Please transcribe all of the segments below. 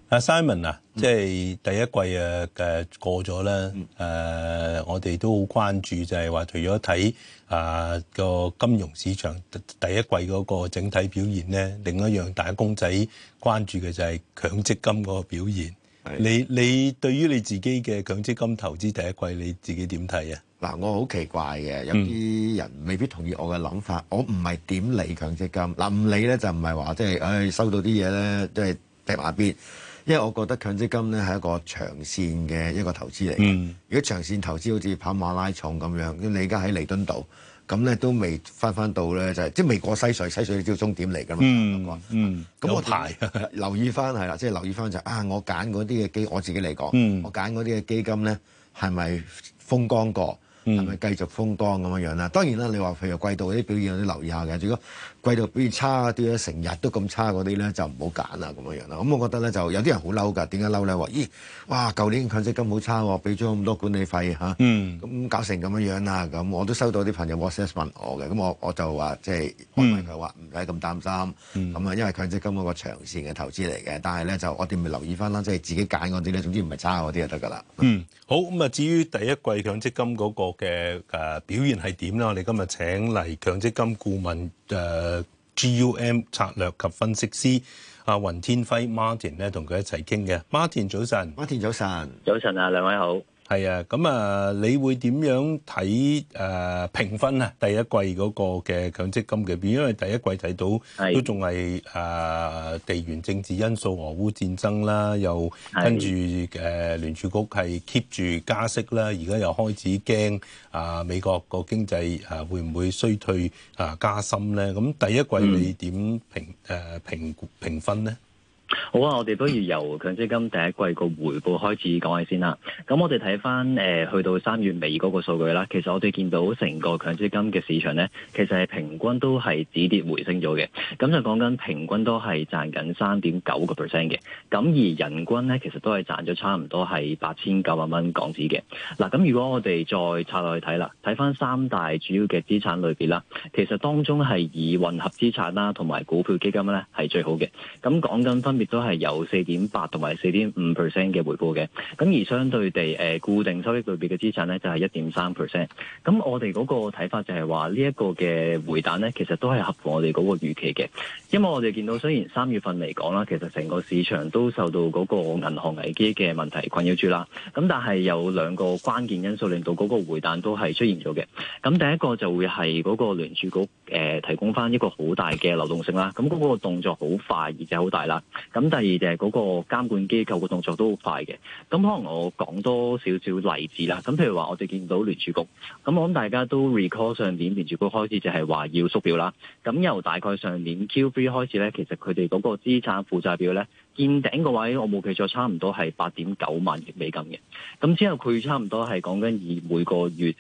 Simon 啊，即係第一季過咗啦。我哋都好關注就係話，除咗睇個金融市場第一季嗰個整體表現咧，另一樣打工仔關注嘅就係強積金嗰個表現。你對於你自己嘅強積金投資第一季，你自己點睇啊？ 嗱，我好奇怪嘅，有啲人未必同意我嘅諗法。我唔係點理強積金，嗱唔理咧就唔係話即係，收到啲嘢咧即係掟埋邊。因為我覺得強積金咧係一個長線嘅一個投資嚟嘅。如果長線投資好似跑馬拉松咁樣，你而家喺彌敦道，咁咧都未翻到咧，就係即係未過西隧，西隧你知道終點嚟㗎嘛。咁我排留意翻係啦，即係留意翻就我揀嗰啲嘅基，我自己嚟講，我揀嗰啲嘅基金咧係咪風光過？係咪繼續風光咁樣啦？當然啦，你話譬如季度嗰啲表現有啲留意下嘅。如果季度表現差啲咧，成日都咁差嗰啲咧，就唔好揀啦咁樣啦。咁我覺得咧，就有啲人好嬲㗎。點解嬲咧？話咦，哇！舊年強積金好差喎，俾咗咁多管理費嚇，咁搞成咁樣啦。咁我都收到啲朋友 WhatsApp 問我嘅，咁我就話即係安慰佢話唔使咁擔心。咁因為強積金嗰個長線嘅投資嚟嘅，但係咧就我哋咪留意翻啦，即係自己揀嗰啲咧，總之唔係差嗰啲就得㗎啦。 好咁啊！至於第一季強積金嗰個嘅表現係點咧？我哋今日請嚟強積金顧問GUM 策略及分析師阿雲天輝 Martin 咧，同佢一齊傾嘅。Martin 早晨 ，Martin 早晨， 早晨啊，兩位好。 係啊，咁你會點樣睇評分啊？第一季嗰個嘅強積金嘅表現，因為第一季睇到都仲係地緣政治因素、俄烏戰爭啦，又跟住聯儲局係 keep 住加息啦，而家又開始驚美國個經濟會唔會衰退加深咧？咁第一季你點評分咧？ 好啊，我哋不如由強積金第一季個回報開始講起先啦。咁我哋睇翻去到3月尾嗰個數據啦，其實我哋見到成個強積金嘅市場咧，其實係平均都係止跌回升咗嘅。咁就講緊平均都係賺緊3.9%嘅。咁而人均咧，其實都係賺咗差唔多係8900蚊港紙嘅。嗱，咁如果我哋再拆落去睇啦，睇翻3大主要嘅資產類別啦，其實當中係以混合資產啦同埋股票基金咧係最好嘅。咁講緊分別都係有4.8%同埋4.5% 嘅回報嘅，咁而相對地固定收益類別嘅資產咧就係1.3%。咁我哋嗰個睇法就係話呢一個嘅回彈咧，其實都係合乎我哋嗰個預期嘅，因為我哋見到雖然3月份嚟講啦，其實成個市場都受到嗰個銀行危機嘅問題困擾住啦，咁但係有兩個關鍵因素令到嗰個回彈都係出現咗嘅。咁第一個就會係嗰個聯儲局提供翻一個好大嘅流動性啦，咁嗰個動作好快而且好大啦。咁第二就係嗰個監管機構嘅動作都好快嘅。咁可能我講多少少例子啦。咁譬如話我哋見到聯儲局，咁我諗大家都 recall 上年聯儲局開始就係話要縮表啦。咁由大概上年 Q3 開始咧，其實佢哋嗰個資產負債表咧見頂個位，我冇記錯差唔多係8.9萬億美金嘅。咁之後佢差唔多係講緊以每個月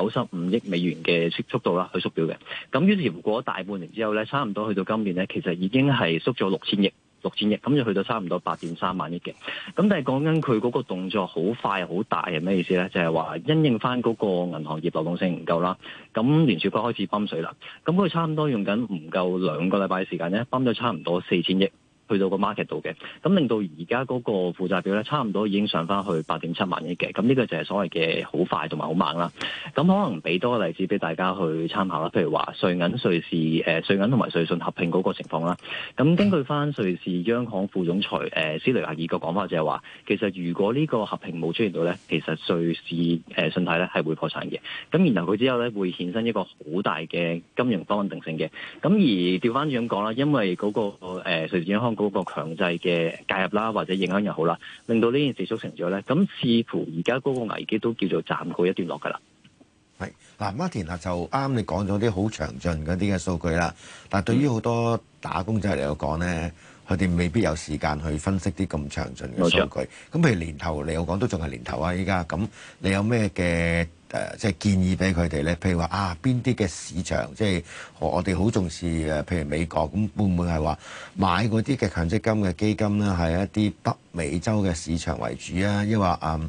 95億美元嘅速度啦去縮表嘅。咁於是乎過咗大半年之後咧，差唔多去到今年咧，其實已經係縮咗6000億，咁就去到差唔多8.3萬億嘅。咁但係講緊佢嗰個動作好快好大係咩意思咧？就係話因應翻嗰個銀行業流動性唔夠啦，咁聯儲局開始泵水啦。咁佢差唔多用緊唔夠2個禮拜嘅時間咧，泵咗差唔多4000億去到個 market 度嘅，咁令到而家嗰個負債表咧，差唔多已經上翻去8.7萬億嘅。咁呢個就係所謂嘅好快同埋好猛啦。咁可能俾多個例子俾大家去參考啦。譬如話瑞銀同埋瑞信合併嗰個情況啦。咁根據翻瑞士央行副總裁斯雷亞爾個講法就係話，其實如果呢個合併冇出現到咧，其實瑞士信貸咧係會破產嘅。咁然後佢之後咧會衍生一個好大嘅金融不穩定性嘅。咁而調翻轉咁講啦，因為嗰個瑞士央行嗰個強制嘅介入啦，或者影響又好啦，令到呢件事促成咗咧。咁似乎而家嗰個危機都叫做暫告一段落㗎啦。 係嗱，Martin 就啱你講咗啲好詳盡嗰啲嘅數據啦。但係對於好多打工仔嚟講咧，佢哋未必有時間去分析啲咁詳盡嘅數據。咁譬如年頭嚟講都仲係年頭啊，依家咁你有咩嘅即係建議俾佢哋咧？譬如話邊啲嘅市場即係我哋好重視譬如美國咁，會唔會係話買嗰啲嘅強積金嘅基金咧，係一啲北美洲嘅市場為主啊？抑或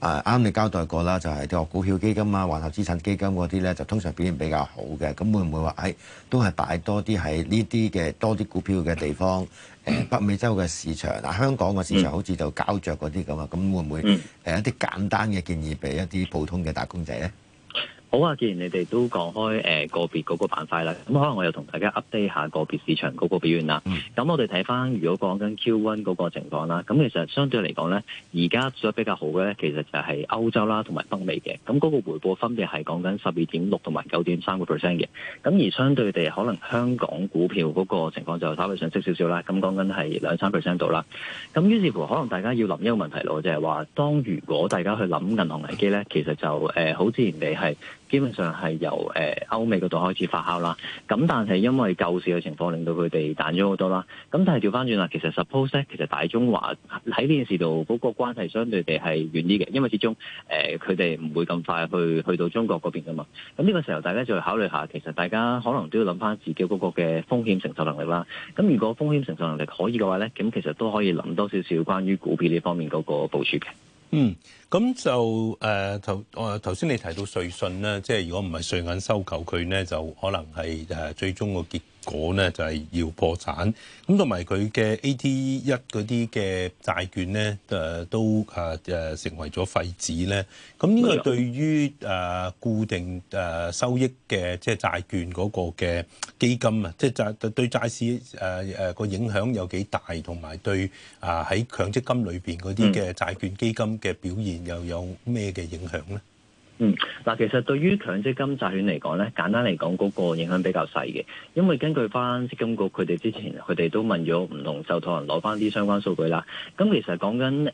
啱你交代過啦，就係啲股票基金啊、環球資產基金嗰啲咧，就通常表現比較好嘅。咁會唔會話都係擺多啲喺呢啲嘅多啲股票嘅地方？北美洲嘅市場香港嘅市場好似就膠着嗰啲咁啊，咁會唔會一啲簡單嘅建議俾一啲普通嘅打工仔咧？ 好啊，既然你哋都講開個別嗰個板塊啦，咁可能我又同大家 update 下個別市場嗰個表現啦。咁我哋睇翻如果講緊 Q1 嗰個情況啦，咁其實相對嚟講咧，而家做得比較好嘅咧，其實就係歐洲啦同埋北美嘅。咁嗰個回報分別係講緊12.6%同埋9.3%嘅。咁而相對地，可能香港股票嗰個情況就稍微上升少少啦。咁講緊係2-3% 度啦。咁於是乎，可能大家要諗一個問題咯，就係話，當如果大家去諗銀行危機咧，其實就好自然地係。基本上係由歐美嗰度開始發酵啦，咁但係因為救市嘅情況令到佢哋彈咗好多啦，咁但係調翻轉啦，其實 suppose 咧，其實大中華喺呢件事度嗰個關係相對地係遠啲嘅，因為始終佢哋唔會咁快去到中國嗰邊噶嘛，咁呢個時候大家就要考慮下，其實大家可能都要諗翻自己嗰個嘅風險承受能力啦。咁如果風險承受能力可以嘅話咧，咁其實都可以諗多少少關於股票呢方面嗰個部署嘅。 咁就頭先你提到瑞信咧，即係如果唔係瑞銀收購佢咧，就可能係最終個結果咧就係要破產。咁同埋佢嘅 AT1 嗰啲嘅債券咧，都成為咗廢紙咧。咁呢個對於固定收益嘅即係債券嗰個嘅基金啊，即係對債市個影響有幾大，同埋對喺強積金裏邊嗰啲嘅債券基金嘅表現又有咩嘅影響咧？ 嗱，其實對於強積金債券嚟講咧，簡單嚟講嗰個影響比較細嘅，因為根據翻積金局佢哋之前佢哋都問咗唔同受託人攞翻啲相關數據啦。咁其實講緊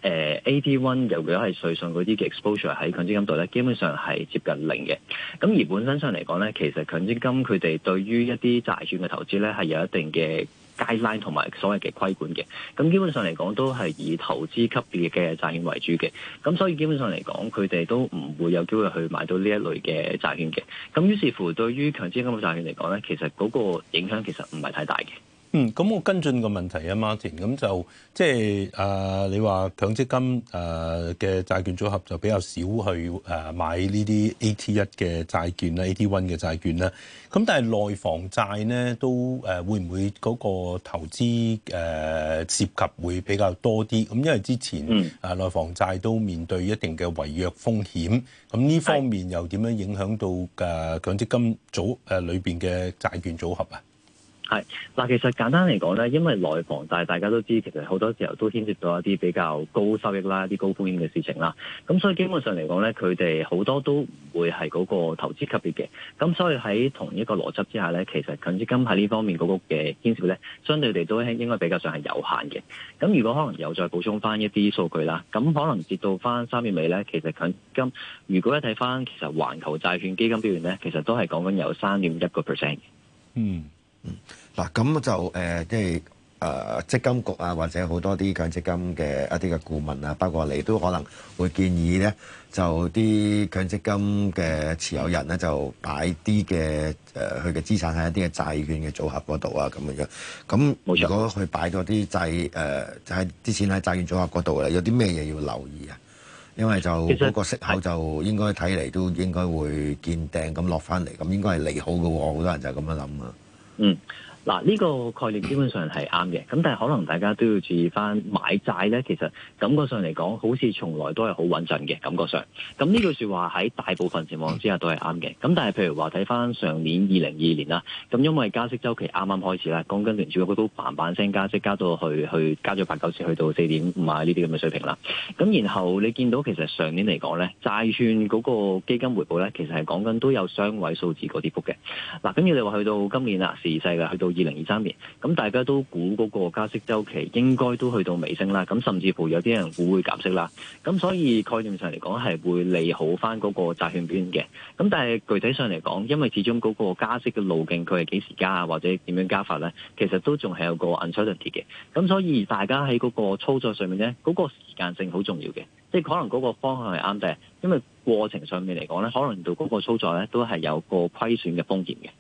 AT1，如果係瑞信嗰啲嘅 exposure 喺強積金度咧，基本上係接近零嘅。咁而本身上嚟講咧，其實強積金佢哋對於一啲債券嘅投資咧係有一定嘅guideline 同埋所謂嘅規管嘅，咁基本上嚟講都係以投資級別嘅債券為主嘅，咁所以基本上嚟講，佢哋都唔會有機會去買到呢一類嘅債券嘅，咁於是乎對於強積金嘅債券嚟講咧，其實嗰個影響其實唔係太大嘅。 咁我跟進個問題啊，Martin，咁就即係你話強積金嘅債券組合就比較少去買呢啲 AT1 嘅債券啦，AT1 嘅債券啦。咁但係內房債咧都會唔會嗰個投資涉及會比較多啲？咁因為之前內房債都面對一定嘅違約風險，咁呢方面又點樣影響到強積金裏邊嘅債券組合啊？ 係嗱，其實簡單嚟講咧，因為內房債大家都知，其實好多時候都牽涉到一啲比較高收益啦、一啲高風險嘅事情啦。咁所以基本上嚟講咧，佢哋好多都唔會係嗰個投資級別嘅。咁所以喺同一個邏輯之下咧，其實強積金喺呢方面嗰個嘅牽涉咧，相對地都應該比較上係有限嘅。咁如果可能又再補充翻一啲數據啦，咁可能截到翻3月尾咧，其實強積金如果一睇翻其實環球債券基金表現咧，其實都係講緊有3.1%嘅。 嗱，咁就即係積金局啊，或者好多啲強積金嘅一啲嘅顧問啊，包括你都可能會建議咧，就啲強積金嘅持有人咧，就擺啲嘅佢嘅資產喺一啲嘅債券嘅組合嗰度啊，咁樣。咁如果佢擺咗啲就係啲錢喺債券組合嗰度咧，有啲咩嘢要留意啊？因為就嗰個息口就應該睇嚟都應該會見頂咁落翻嚟，咁應該係利好嘅喎，好多人就係咁樣諗啊。 嗱，呢個概念基本上係啱嘅，咁但係可能大家都要注意翻買債咧，其實感覺上嚟講，好似從來都係好穩陣嘅感覺上。咁呢句説話喺大部分情況之下都係啱嘅。咁但係譬如話睇翻上年2022年啦，咁因為加息週期啱啱開始啦，講緊聯儲局都嘭聲加息，加到去加咗8-9次，去到4.5啊呢啲咁嘅水平啦。咁然後你見到其實上年嚟講咧，債券嗰個基金回報咧，其實係講緊都有雙位數字個跌幅嘅。嗱，咁你話去到今年啦，時勢嘅去到2023年，咁大家都估嗰個加息週期應該都去到尾聲啦，咁甚至乎有啲人估會減息啦，咁所以概念上嚟講係會利好翻嗰個債券表現嘅。咁但係具體上嚟講，因為始終嗰個加息嘅路徑佢係幾時加啊，或者點樣加法呢？其實都仲係有個 uncertainty 嘅。咁所以大家喺嗰個操作上面呢，嗰個時間性好重要嘅，即係可能嗰個方向係啱嘅，因為過程上面嚟講呢，可能到嗰個操作呢都係有個虧損嘅風險嘅。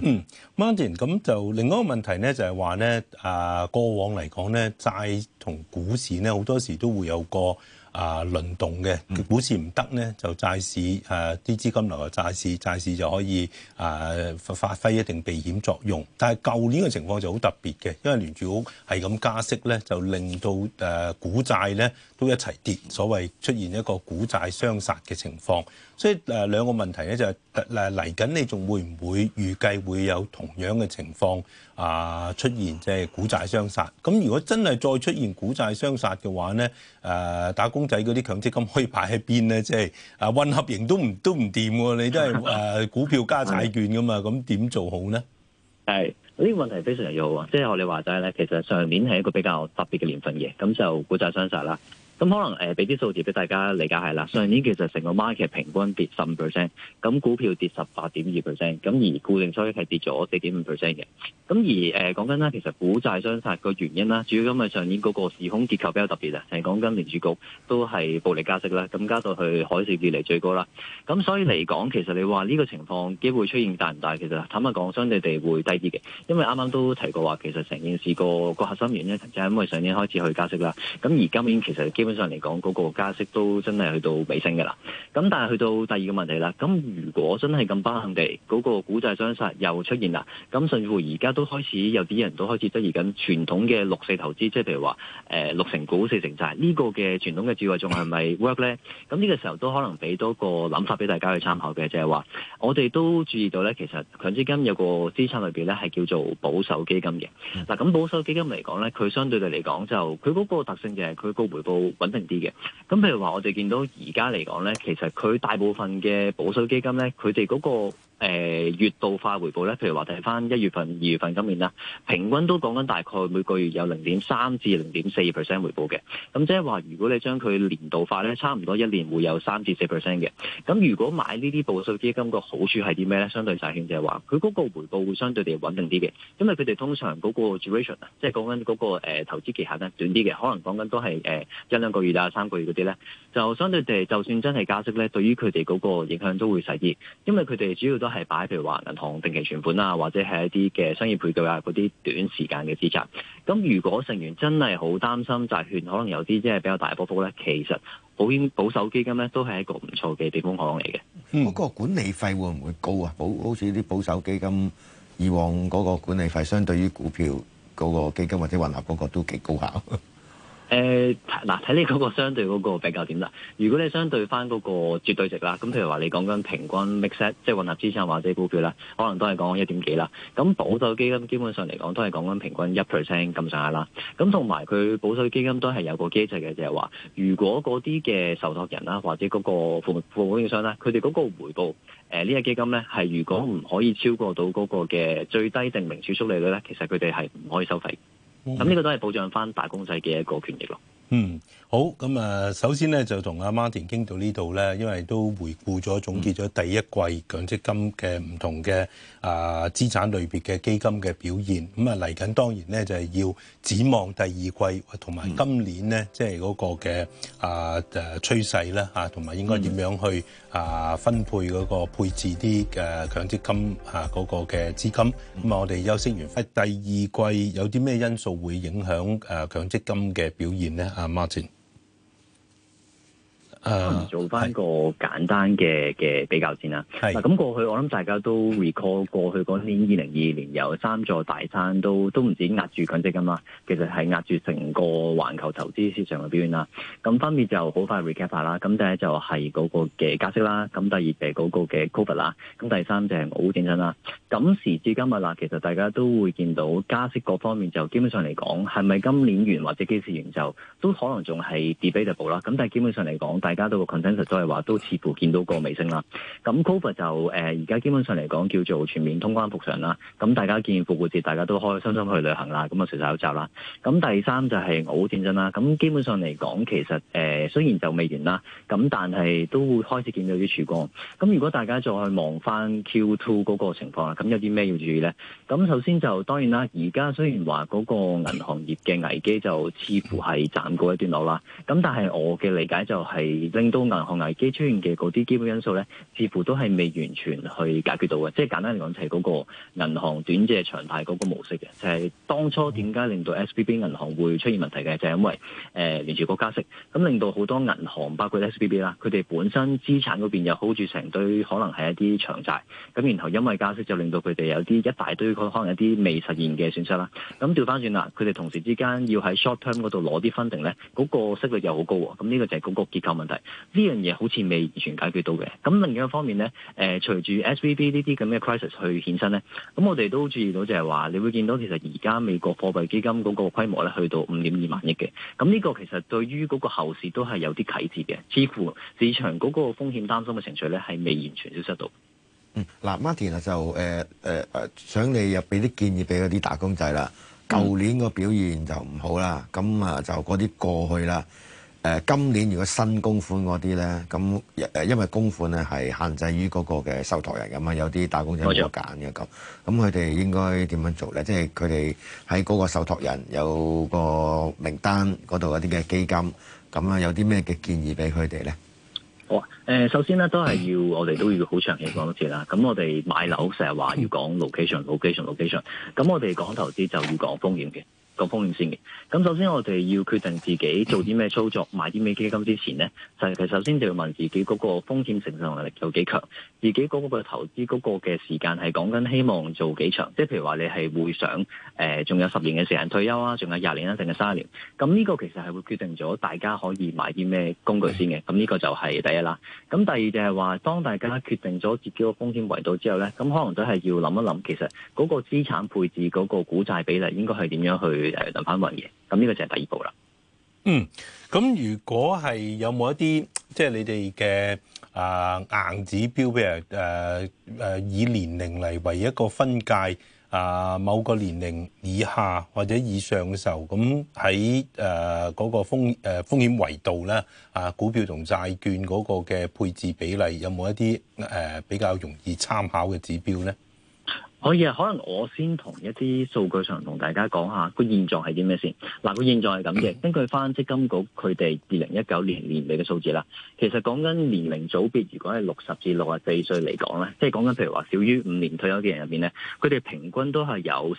Martin， 咁就另外一個問題咧，就係話咧，過往嚟講咧，債同股市咧好多時都會有個輪動嘅，股市唔得咧就債市啲資金流入債市就可以發揮一定避險作用。但係舊年嘅情況就好特別嘅，因為聯儲局係咁加息咧，就令到股債咧都一齊跌，所謂出現一個股債雙殺嘅情況。所以兩個問題咧就係嚟緊，你仲會唔會預計會有同樣嘅情況出現，即係股債雙殺？咁如果真係再出現股債雙殺嘅話咧，打工仔嗰啲強積金可以擺喺邊咧？即係混合型都唔掂喎，你都係股票加債券噶嘛，咁點做好咧？ 係呢個問題非常之好啊！即係我哋話齋咧，其實上年係一個比較特別嘅年份嘅，咁就股債雙殺啦。咁可能俾啲數字俾大家理解係啦。上年其實成個 market 平均跌15%，咁股票跌18.2%，咁而固定收益係跌咗4.5% 嘅。咁而講緊啦，其實股債雙殺個原因啦，主要因為上年嗰個時空結構比較特別啊，係講緊聯儲局都係暴力加息啦，咁加到去海嘯以嚟最高啦。咁所以嚟講，其實你話呢個情況機會出現大唔大？其實坦白講，相對地會低啲嘅，因為啱啱都提過話，其實成件事個核心原因就係因為上年開始去加息啦。咁而今年其實基本上嚟講，嗰個加息都真係去到尾聲嘅啦。咁但係去到第二個問題啦，咁如果真係咁不幸地嗰個股債雙殺又出現啦，咁甚至乎而家都開始有啲人都開始質疑緊傳統嘅6-4投資，即係譬如話6成股4成債呢個嘅傳統嘅智慧仲係咪 work 咧？咁呢個時候都可能俾多個諗法俾大家去參考嘅，就係話我哋都注意到咧，其實強積金有個資產類別咧係叫做保守基金嘅。嗱，咁保守基金嚟講咧，佢相對地嚟講就佢嗰個特性就係佢個回報穩定啲嘅。咁譬如話我哋見到而家嚟講咧，其實佢大部分嘅保守基金咧，佢哋嗰個月度化回報咧，譬如話睇翻1月份、2月份今年啦，平均都講緊大概每個月有0.3至0.4% 回報嘅。咁即係話，如果你將佢年度化咧，差唔多一年會有3至4% 嘅。咁如果買呢啲保守基金個好處係啲咩咧？相對債券就係話，佢嗰個回報會相對地穩定啲嘅，因為佢哋通常嗰個 duration 啊，即係講緊嗰個投資期限咧短啲嘅，可能講緊都係1-2個月啊、3個月嗰啲咧，就相對地就算真係加息咧，對於佢哋嗰個影響都會細啲，因為佢哋主要都係擺譬如話銀行定期存款啊，或者係一啲嘅商業配對啊嗰啲短時間嘅資產。咁如果成員真係好擔心債券可能有啲即係比較大波幅咧，其實保守基金咧都係一個唔錯嘅避風港嚟嘅。 嗰個管理費會唔會高啊？好似啲保守基金以往嗰個管理費，相對於股票嗰個基金或者混合嗰個都幾高下。 嗱，睇你嗰個相對嗰個比較點啦。如果你相對翻嗰個絕對值啦，咁譬如話你講緊平均 mix 即係混合資產或者股票啦，可能都係講緊1點幾啦。咁保守基金基本上嚟講都係講緊平均1% 咁上下啦。咁同埋佢保守基金都係有個機制嘅，就係話如果嗰啲嘅受託人啦，或者嗰個服務供應商啦，佢哋嗰個回報呢個基金咧係如果唔可以超過到嗰個嘅最低定名儲蓄利率咧，其實佢哋係唔可以收費。咁呢個都係保障翻打工仔嘅一個權益咯。 好，咁首先咧就同阿 Martin 傾到呢度咧，因為都回顧咗總結咗第一季強積金嘅唔同嘅資產類別嘅基金嘅表現。咁嚟緊當然咧就係要展望第二季同埋今年咧，即係嗰個嘅趨勢啦嚇，同埋應該點樣去分配嗰個配置啲嘅強積金嗰個嘅資金。咁我哋休息完，第二季有啲咩因素會影響強積金嘅表現咧？阿 Martin。 做翻個簡單嘅比較先啦。嗱，咁過去我諗大家都 recall 過去嗰年2022年有3座大山都唔止壓住強積金啦，其實係壓住成個環球投資市場嘅表現啦。咁分別就好快 recap 下啦。咁第一就係嗰個嘅加息啦，咁第二就係嗰個嘅 COVID 啦，咁第三就係俄烏戰爭啦。咁時至今日啦，其實大家都會見到加息各方面就基本上嚟講，係咪今年完或者幾時完就都可能仲係 debatable 啦。咁但係基本上嚟講，大家都個 consensus 都係話都似乎見到個尾聲啦。咁 COVID 就而家基本上嚟講叫做全面通關復常啦。咁大家見復活節大家都開開心心去旅行啦，咁啊除晒口罩啦。咁第三就係俄烏戰爭啦。咁基本上嚟講，其實雖然就未完啦，咁但係都會開始見到啲曙光。咁如果大家再望翻 Q2 嗰個情況啦，咁有啲咩要注意咧？咁首先就當然啦，而家雖然話嗰個銀行業嘅危機就似乎係暫告一段落啦。咁但係我嘅理解就係令到銀行危機出現嘅嗰啲基本因素咧，似乎都係未完全去解決到嘅。即係簡單嚟講，就係嗰個銀行短借長貸嗰個模式嘅，就係當初點解令到 SVB 銀行會出現問題嘅，就係因為聯儲局加息，咁令到好多銀行包括 SVB 啦，佢哋本身資產嗰邊又 hold 住成堆可能係一啲長債，咁然後因為加息就令到佢哋有啲一大堆可能有啲未實現嘅損失啦。咁調翻轉啦，佢哋同時之間要喺 short term 嗰度攞啲 funding 咧，嗰個息率又好高喎。咁呢個就係嗰個結構問題。呢樣嘢好似未完全解決到嘅。咁另一個方面咧，隨住 SVB 呢啲咁嘅 crisis 去衍生咧，咁我哋都注意到就係話，你會見到其實而家美國貨幣基金嗰個規模咧去到5.2萬億嘅。咁呢個其實對於嗰個後市都係有啲啟示嘅。似乎市場嗰個風險擔心嘅情緒咧係未完全消失到。 嗱，Martin 啊，就想你又俾啲建議俾嗰啲打工仔啦。舊年個表現就唔好啦，咁啊就嗰啲過去啦。今年如果新供款嗰啲咧，咁因為供款咧係限制於嗰個嘅受託人咁啊，有啲打工仔冇得揀嘅咁佢哋應該點樣做咧？即係佢哋喺嗰個受託人有個名單嗰度有啲嘅基金，咁啊有啲咩嘅建議俾佢哋咧？ 好啊，首先咧都係要我哋都要好長期講多次啦。咁我哋買樓成日話要講 location，咁我哋講投資就要講風險嘅。個風險先嘅，咁首先我哋要決定自己做啲咩操作，買啲咩基金之前呢，就係首先就要問自己嗰個風險承受能力有幾強，自己嗰個投資嗰個嘅時間係講緊希望做幾長，即係譬如話你係會想仲有10年嘅時間退休啊，仲有20年啊，定係30年，咁呢個其實係會決定咗大家可以買啲咩工具先嘅，咁呢個就係第一啦。咁第二就係話，當大家決定咗自己個風險維度之後呢，咁可能都係要諗一諗，其實嗰個資產配置嗰個股債比例應該係點樣去輪番運嘅，咁呢個就係第二步啦。 咁如果係有冇一啲即係你哋嘅硬指標，譬如以年齡嚟為一個分界，某個年齡以下或者以上嘅時候，咁喺嗰個風險維度咧，股票同債券嗰個嘅配置比例有冇一啲比較容易參考嘅指標咧？ 可以啊，可能我先同一啲數據上同大家講下個現狀係啲咩先。嗱，個現狀係咁嘅，根據翻積金局佢哋2019年年尾嘅數字啦，其實講緊年齡組別，如果係60至64歲嚟講咧，即係講緊譬如話少於5年退休嘅人入邊咧，佢哋平均都係有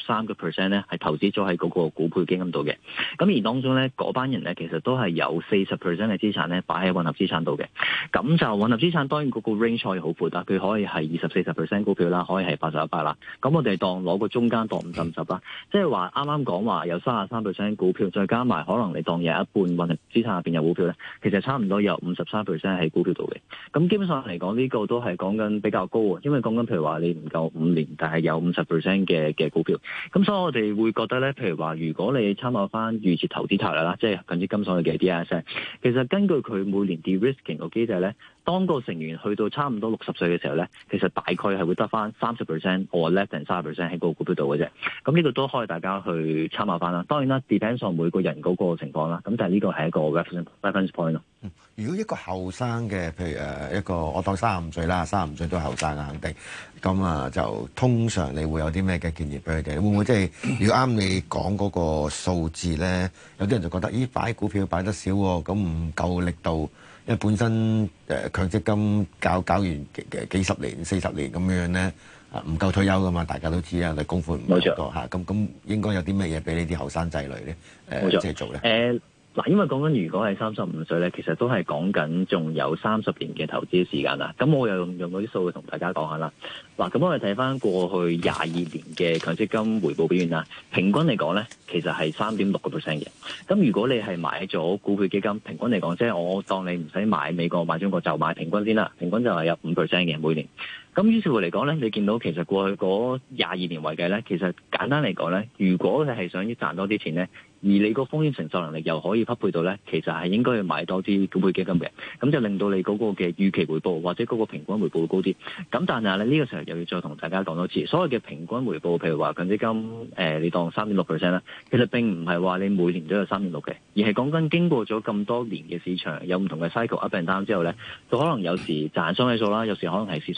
33% 咧係投資咗喺嗰個股配基金度嘅。咁而當中咧，嗰班人咧其實都係有40% 嘅資產咧擺喺混合資產度嘅。咁就混合資產當然嗰個 range 可以好闊啦，佢可以係20-40% 股票啦，可以係81%啦。咁我哋當攞個中間當50-50啦，即係話啱啱講話有33% 股票，再加埋可能你當有一半混合資產入邊有股票咧，其實差唔多有53% 喺股票度嘅。咁基本上嚟講，呢個都係講緊比較高啊，因為講緊譬如話你唔夠5年，但係有50% 嘅股票。咁所以我哋會覺得咧，譬如話如果你參考翻預設投資策略啦，即係強積金所謂嘅 DIS，其實根據佢每年 de-risking 個機制咧，當個成員去到差唔多60歲嘅時候咧，其實大概係會得翻30%或 less than 30% 喺個股票度嘅啫。咁呢個都可以大家去參考翻啦。當然啦 ，depends on 每個人嗰個情況啦。咁但係呢個係一個 reference point 咯。 如果一個後生嘅，譬如一個我當35歲啦，35歲都係後生啊，肯定。咁啊，就通常你會有啲咩嘅建議俾佢哋？會唔會即係如果啱你講嗰個數字咧，有啲人就覺得咦擺股票擺得少喎，咁唔夠力度。因為本身強積金搞完幾十年、40年咁樣咧，唔夠退休噶嘛，大家都知啊，你供款唔夠多嚇，咁應該有啲咩嘢俾你啲後生仔女咧即係做咧？ 嗱，因為講緊如果係35歲咧，其實都係講緊仲有30年嘅投資時間啦。咁我又用嗰啲數據同大家講下啦。嗱，咁我哋睇翻過去22年嘅強積金回報表現啦，平均嚟講咧，其實係3.6% 嘅。咁如果你係買咗股票基金，平均嚟講，即係我當你唔使買美國買中國，就買平均先啦，平均就係有5% 嘅每年。咁於是乎嚟講咧，你見到其實過去嗰22年為計咧，其實簡單嚟講咧，如果你係想要賺多啲錢咧，而你個風險承受能力又可以匹配到咧，其實係應該要買多啲股票基金嘅，咁就令到你嗰個嘅預期回報或者嗰個平均回報會高啲。咁但係咧，呢個時候又要再同大家講多次，所謂嘅平均回報，譬如話強積金你當3.6% 啦，其實並唔係話你每年都有3.6嘅，而係講緊經過咗咁多年嘅市場有唔同嘅 cycle up and down 之後咧，就可能有時賺雙位數啦，有時可能係蝕雙位數啦。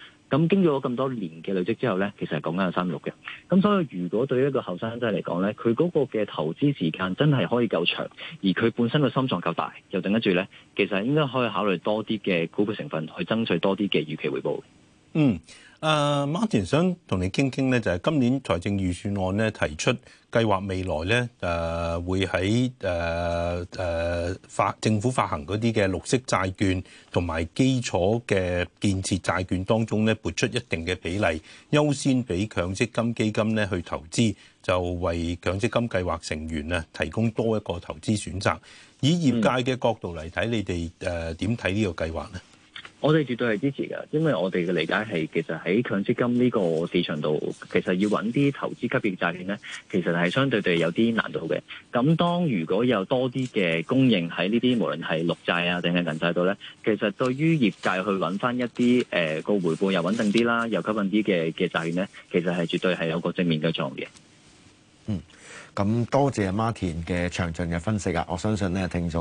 咁經過咗咁多年嘅累積之後咧，其實係講緊有3.6嘅。咁所以如果對於一個後生仔嚟講咧，佢嗰個嘅投資時間真係可以夠長，而佢本身個心臟夠大，又頂得住咧，其實應該可以考慮多啲嘅股票成分去爭取多啲嘅預期回報。 Martin 想同你傾傾咧，就係今年財政預算案咧提出計劃未來咧會喺政府發行嗰啲嘅綠色債券同埋基礎嘅建設債券當中咧撥出一定嘅比例，優先俾強積金基金咧去投資，就為強積金計劃成員啊提供多一個投資選擇。以業界嘅角度嚟睇，你哋點睇呢個計劃咧？ 我哋絕對係支持㗎，因為我哋嘅理解係其實喺強積金呢個市場度，其實要揾啲投資級別債券咧，其實係相對地有啲難度嘅。咁當如果有多啲嘅供應喺呢啲無論係綠債啊定係銀債度咧，其實對於業界去揾翻一啲個回報又穩定啲啦，又吸引啲嘅債券咧，其實係絕對係有個正面嘅作用嘅。 咁多謝 Martin 嘅詳盡嘅分析啊！我相信咧聽眾